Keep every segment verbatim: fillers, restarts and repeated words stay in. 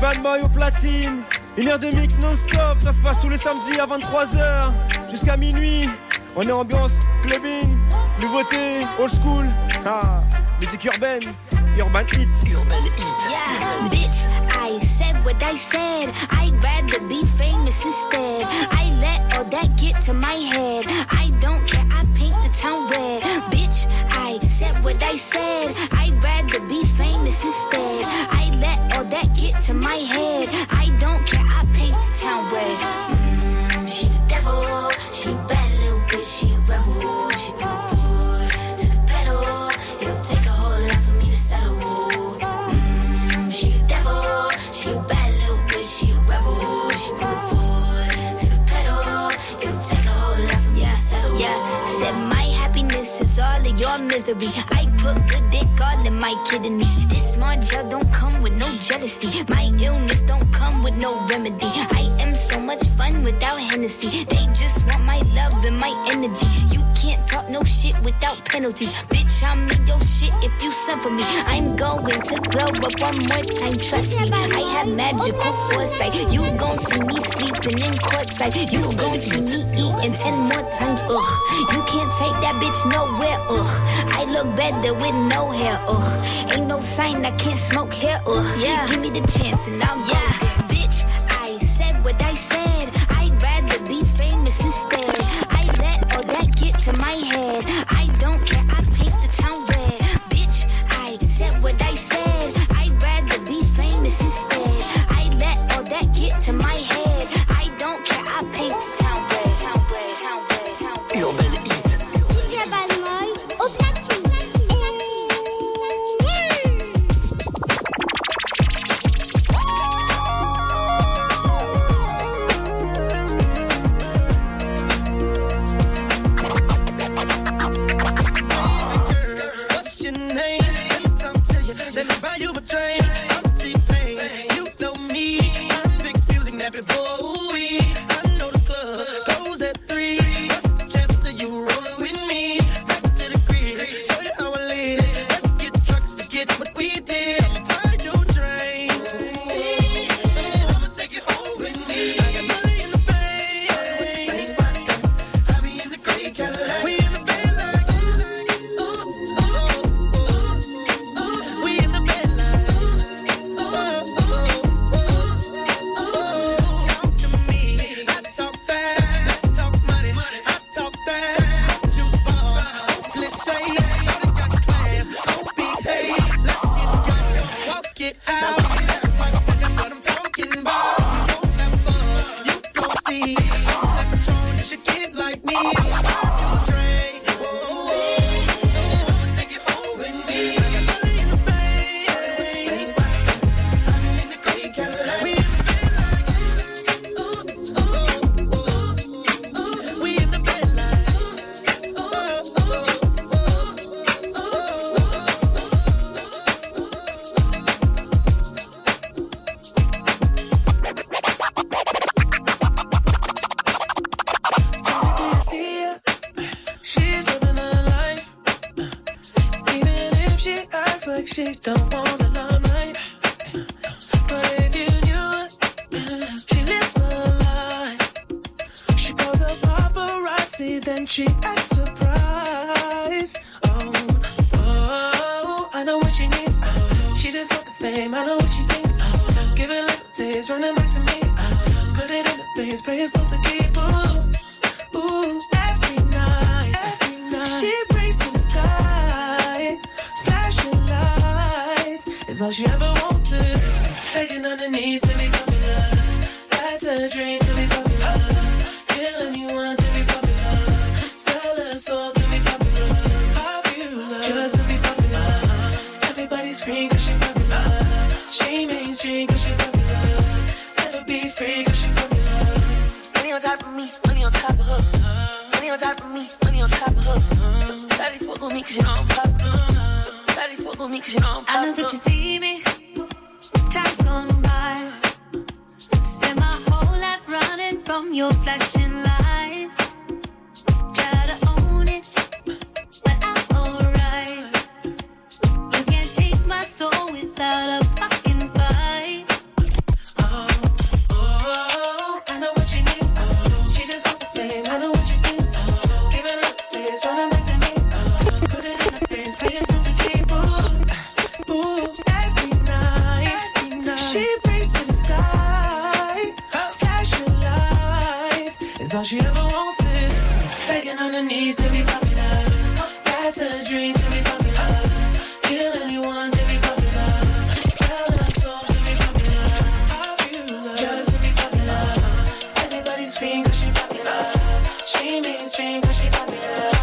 Urban Boy au platine. Une heure de mix non-stop, ça se passe tous les samedis à vingt-trois heures jusqu'à minuit. On est ambiance clubbing, nouveauté, old school. Ah, musique urbaine, urban hit. Urban hit. Yeah, bitch, I said what I said. I'd rather be famous instead. I let all that get to my head. I don't care, I paint the town red. Bitch, I said what I said. I'd rather be famous instead. I let all that get to my head. I don't care, I paint the town red. Mm, she the devil, she a bad little bitch, she a rebel. She put her foot to the pedal. It'll take a whole lot for me to settle. Mm, she the devil, she a bad little bitch, she a rebel. She put her foot to the pedal. It'll take a whole lot for me to settle. Yeah, said my happiness is all of your misery. I put good dick all in my kidneys. This small gel don't come with no jealousy. My illness don't come with no remedy. I am so much fun without Hennessy. They just want my love and my energy. You can't talk no shit without penalties. Bitch, I'm in your shit if you send for me. I'm going to glow up one more time, trust me. I have magical foresight. You gon' see me sleeping in courtside. You gon' see me eating ten more times, ugh. You can't take that bitch nowhere, ugh. I look better with no hair, ugh. Ain't no sign I can't smoke hair, ugh. Yeah, give me the chance and I'll go there. Bitch, I said what I said. I'd rather be famous instead. I let all that get to my head. I don't care, I paint the town red. Bitch, I said what I said. I'd rather be famous instead. I let all that get to my head. I don't care, I paint the town red. Town red, town red, town red. Urban hit. D J Balmoy au platine. She don't want the limelight, but if you knew it, she lives a lie. She calls her paparazzi, then she acts surprised. Oh, oh, I know what she needs. Oh, she just want the fame, I know what she thinks. Oh, give it little taste, running back to me. Oh, put it in the veins, pray it's all to keep. Ooh, ooh, every night, every night, she breaks to the sky, flashing lights. It's all she ever wants to do. Begging on her knees to be popular. That's a dream to be popular. Kill anyone to be popular. Sell her soul to be popular. Popular, just to be popular. Everybody scream cause she popular. She mainstream cause she popular. Never be free cause she popular. Money on top of me, money on top of her. Money on top of me, money on top of her. Daddy fuck with me cause you know I'm popular. Daddy fuck with me cause you know I'm popular. I know that you see me. Time's gone by. Spend my whole life running from your flashing lights. Try to own it, but I'm alright. You can't take my soul without a fucking fight. All she ever wants is begging on her knees to be popular. That's her dream to be popular. Kill anyone to be popular. Sell her soul to be popular. Popular, just to be popular. Everybody scream 'cause she popular. She mainstream 'cause she popular.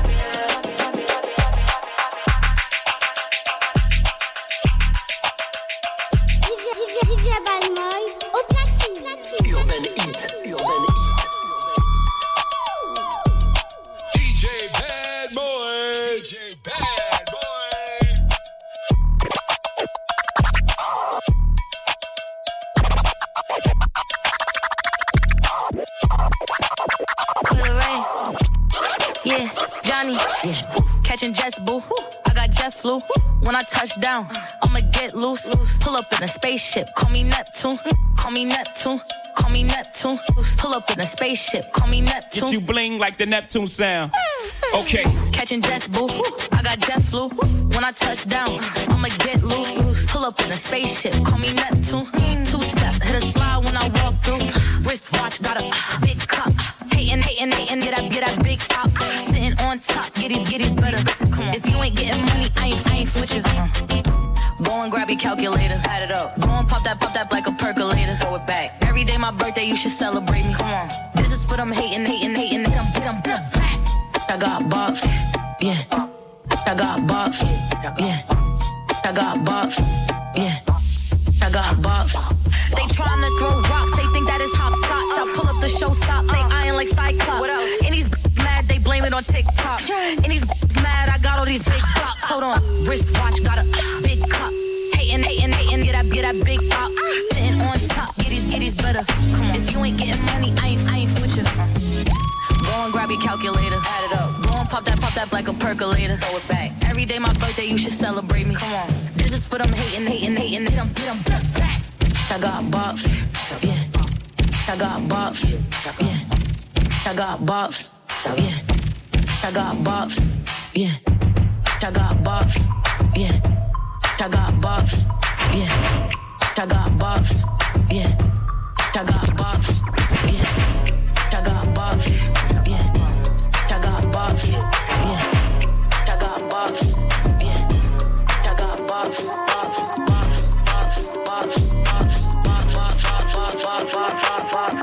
Flu. When I touch down, I'ma get loose. Pull up in a spaceship, call me Neptune. Call me Neptune, call me Neptune. Pull up in a spaceship, call me Neptune. Get you bling like the Neptune sound. Okay. Catching jets, boo. I got jet flu. When I touch down, I'ma get loose. Pull up in a spaceship, call me Neptune. Two step, hit a slide when I walk through. Wristwatch, got a big cup. Hating, hating, hating, get that, get that big pop. Sitting on top, get these, get these better. Come on. If you ain't getting money, I ain't, I ain't with you. Uh-uh. Go and grab your calculator, add it up. Go and pop that, pop that like a percolator. Throw it back. Every day my birthday, you should celebrate me. Come on. This is for them hating, hating, hating. Get them, get them, get them. I got box, yeah. I got box, yeah. I got box, yeah. I got box. They tryna throw rocks, they think that it's hopscotch. I pull up the show stop, they eyeing like Cyclops. What else? And these mad, they blame it on TikTok. And these mad, I got all these big blocks. Hold on, wristwatch, got a big cup. Hating, hating, hating, get that, get that big pop. Sitting on top, get these, get these better. Come on, if you ain't getting money, I ain't, I ain't with you. Go and grab your calculator, add it up. Go and pop that, pop that like a percolator. Throw it back. Every day my birthday, you should celebrate me. Come on, this is for them hating, hating, hating. Hit them, hit them, back. I got box, yeah. I got box, yeah. I got box, yeah. I got box, yeah. I got box, yeah. I got box, yeah. I got box, yeah. I got box, yeah. I got box, yeah. I got box, yeah. I got box, yeah. I got box, box, box, box, box, box, box, box, box, box, box, box.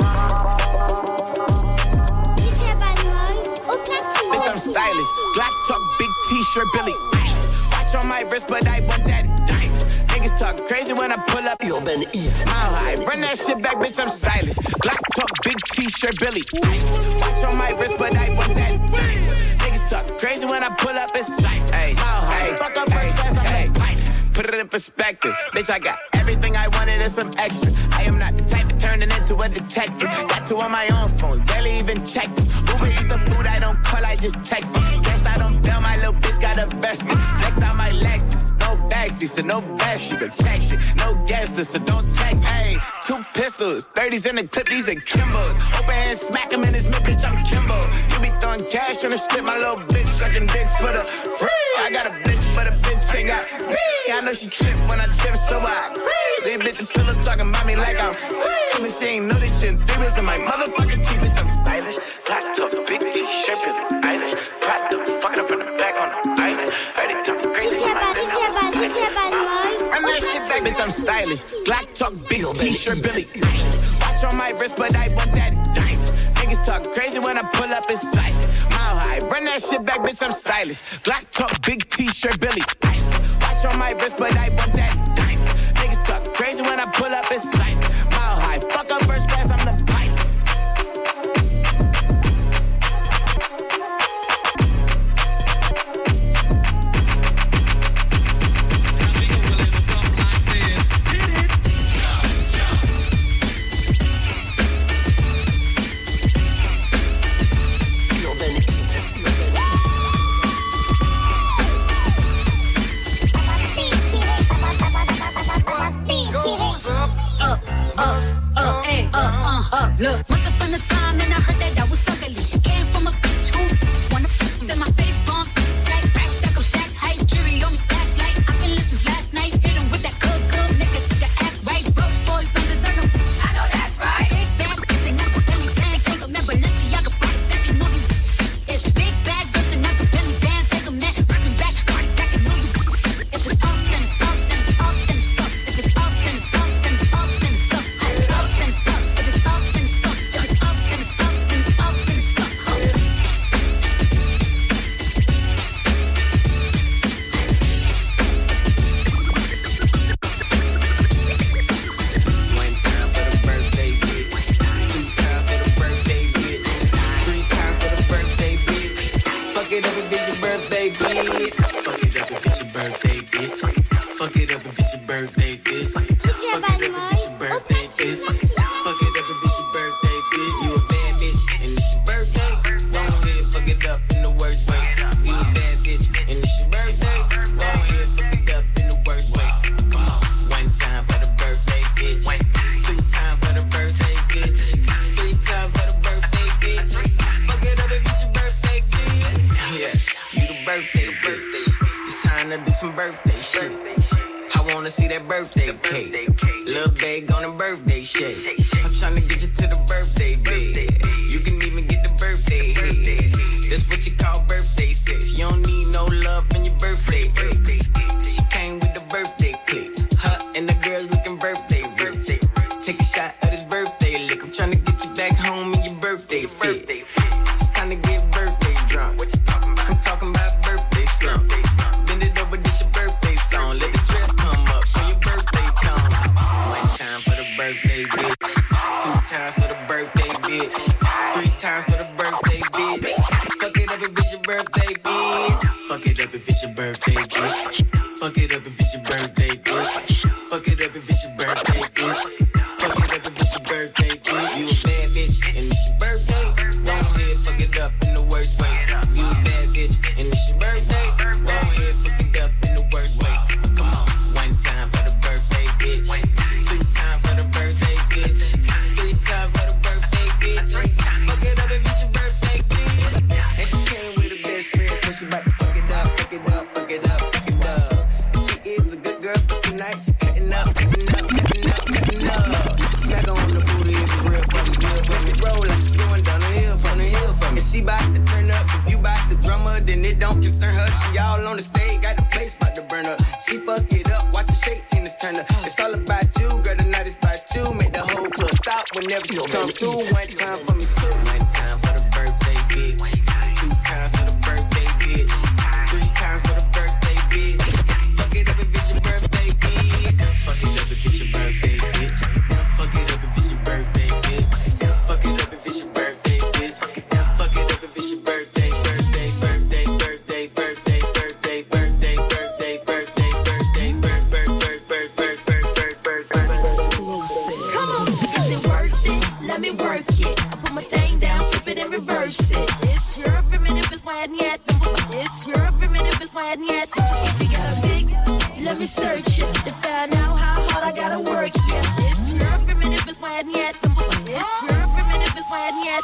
Bitch, I'm stylish. Black talk, big t-shirt, Billy. Watch on my wrist, but I want that diamond. Niggas talk crazy when I pull up. Yo, Ben, eat. Mile high, run that shit back, bitch, I'm stylish. Black talk, big t-shirt, Billy. Watch on my wrist, but I want that diamond. Niggas talk crazy when I pull up, it's like, hey, mile high, fuck up first class, I'm the pilot. Put it in perspective, bitch, I got everything I wanted and some extra. I am not the type of turning into a detective. Got two on my own phone, barely even check them. Uber eats the food, I don't call, I just text it. Guess I don't bail, my little bitch got a vested. Next out my Lexus, no backseat, so no best, you can text it. No guest list, so don't text. Hey, two pistols, thirties in the clip, these are Kimbos. Open hand, smack him in his mid, bitch, I'm Kimbo. You be throwing cash on the strip, my little bitch sucking dick for the free. I got a bitch, but a bitch ain't got me. I know she trip when I dip, so I free. These bitches still talking about me like I'm free. But she ain't know this shit in three weeks in my motherfucking teeth, bitch, I'm stylish. Black top, big t-shirt, Billie Eilish. Platinum, fucking up from the back on the island. Heard it talking crazy when I didn't know. Run that shit back, bitch, I'm stylish. Black talk, big t-shirt, Billie Eilish. Watch on my wrist, but I want that diamond. Niggas talk crazy when I pull up in sight. Mile high, run that shit back, bitch, I'm stylish. Black talk, big t-shirt, Billie Eilish. Watch on my wrist, but I want that diamond. Niggas talk crazy when I pull up in sight. Mile high, fuck up first class, I'm the pilot. Look, once upon a time and I heard that I was ugly. Came from a bitch who wanna f*** in my face, bump, stack, rack, stack up, shack, height, jury on me, flashlight. I've been listening last night, hit him with that good, good, make a nigga act right. Broke boys don't deserve them. I know that's right. Big bag, kissing up with any bag, take a member, let's see, I can pop Fuck it up if it's your birthday, bitch. Fuck it up if it's your birthday, bitch. Fuck it up if it's your birthday, bitch. You a bad bitch and it's your birthday. Go ahead, fuck it up in the worst way. You a bad bitch and it's your birthday. Go ahead, fuck it up in the worst way. Come on, one time for the birthday, bitch. Two times for the birthday, bitch. Three times for the birthday, bitch. Fuck it up if it's your birthday, bitch. Yeah, you the birthday, bitch. It's time to do some birthday shit. I wanna see that birthday cake. Lil' babe on a birthday shake. I'm tryna get you to the birthday bed. You can even get the birthday head. That's what you call birthday sex. You don't need no love in your birthday ex. She came with the birthday click. Her and the girls looking birthday rich. Take a shot of this birthday lick. I'm tryna get you back home in your birthday fit. It's time to get birthday drunk. I'm talking about birthday slump. Bend it over, this your birthday song. Let the dress come up, show your birthday come. One time for the birthday bitch. Two times for the birthday bitch. Three times for the birthday bitch. Fuck it up if it's your birthday bitch. Fuck it up if it's your birthday bitch. Fuck it up if it's your birthday bitch. Fuck it up if it's your birthday bitch. Fuck it up if it's your birthday bitch. You a bad bitch and it's your birthday. Go ahead, fuck it up in the worst way. You a bad bitch and it's your birthday. Go ahead, fuck it up in the worst way. Come on, one time for the birthday bitch. Two times for the birthday bitch. Three times for the birthday bitch. Fuck it up if it's your birthday bitch. And she came with her best friend, so she bout to fuck it up, fuck it up, fuck it up, fuck it up. She is a good girl, but tonight she cutting up, cutting up, cutting up, cutting up. Smack her on the booty if it's real for me, real for me. Roll like she going down the hill, from the hill for me. She bout to turn up, if you bout the drummer, then it don't concern her. She all on the stage, got the place bout to burn up. She fuck it up, watch her shake, Tina Turner. It's all about you, girl, the night is about you. Make the whole club stop whenever she come through. One time for me too. One time for the birthday bitch. Two times for the birthday bitch. Three times for the birthday bitch. Fuck it up if it's your birthday bitch. Fuck it up if it's your birthday bitch. Fuck it up if it's your birthday bitch. Fuck it up if it's your birthday bitch. Fuck it up if it's your birthday, birthday, birthday, birthday, birthday, birthday, birthday, birthday, birthday, birthday, birthday, birthday, birthday, birthday. Come on, is it worth it? Let me work it. I put my thing down, flip it and reverse it. It's your primitive fire yet. It's your primitive fire yet. If you got a big, let me search it to find out how hard I gotta work. Yeah, it's your primitive fire yet. It's your primitive fire yet.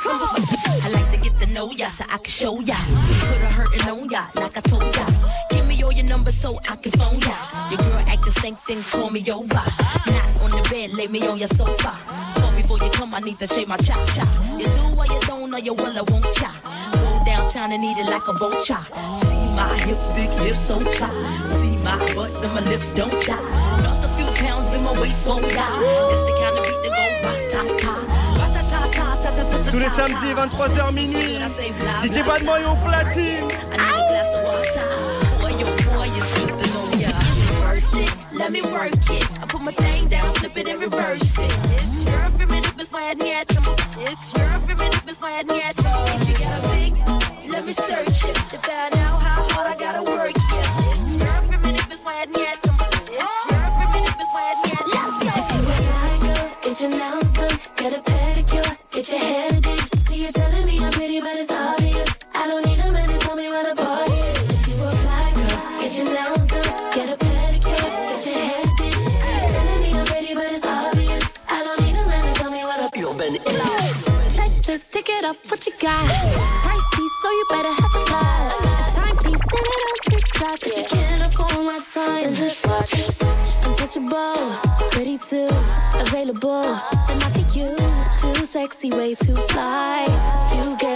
I like to get to know ya so I can show ya. Put a hurtin' on ya like I told ya. Give me all your numbers so I can phone ya. Your girl actin' stink, then call me over. Not on the bed, lay me on your sofa. Call before you come, I need to shave my chop chop. You do what you don't, or you will, I won't chop. Go downtown and eat it like a vulture. See my hips, big hips, so chop. See my butts and my lips don't chop. Lost a few pounds in my waist, won't die. This the kind of beat that go ba-ta-ta. Tous les samedis, vingt-trois heures minuit. D J Bad Boy au platine. Let me work it. I put my thing down, flip it and reverse it. It's your primitive fire yet. It's your primitive fire yet. If you got a big, let me search it to find out how hard I gotta work. Yeah, it's your primitive fire yet. It's your primitive fire yet. Let's go. Get your nails done, get a pedicure, get your hair did. See you telling me I'm pretty, but it's obvious. I don't need a man to tell me where the party is. If you a fly girl, get your nails done, get a pedicure, get your hair did. See you telling me I'm pretty, but it's obvious. I don't need a man to tell me where the urban is. Check this, tick it up, what you got? Pricey, so you better have a lot. A timepiece, send it on TikTok. If you can't afford my time, then just watch it. Untouchable, ready to, available. Then I pick you, too sexy, way too fly. You get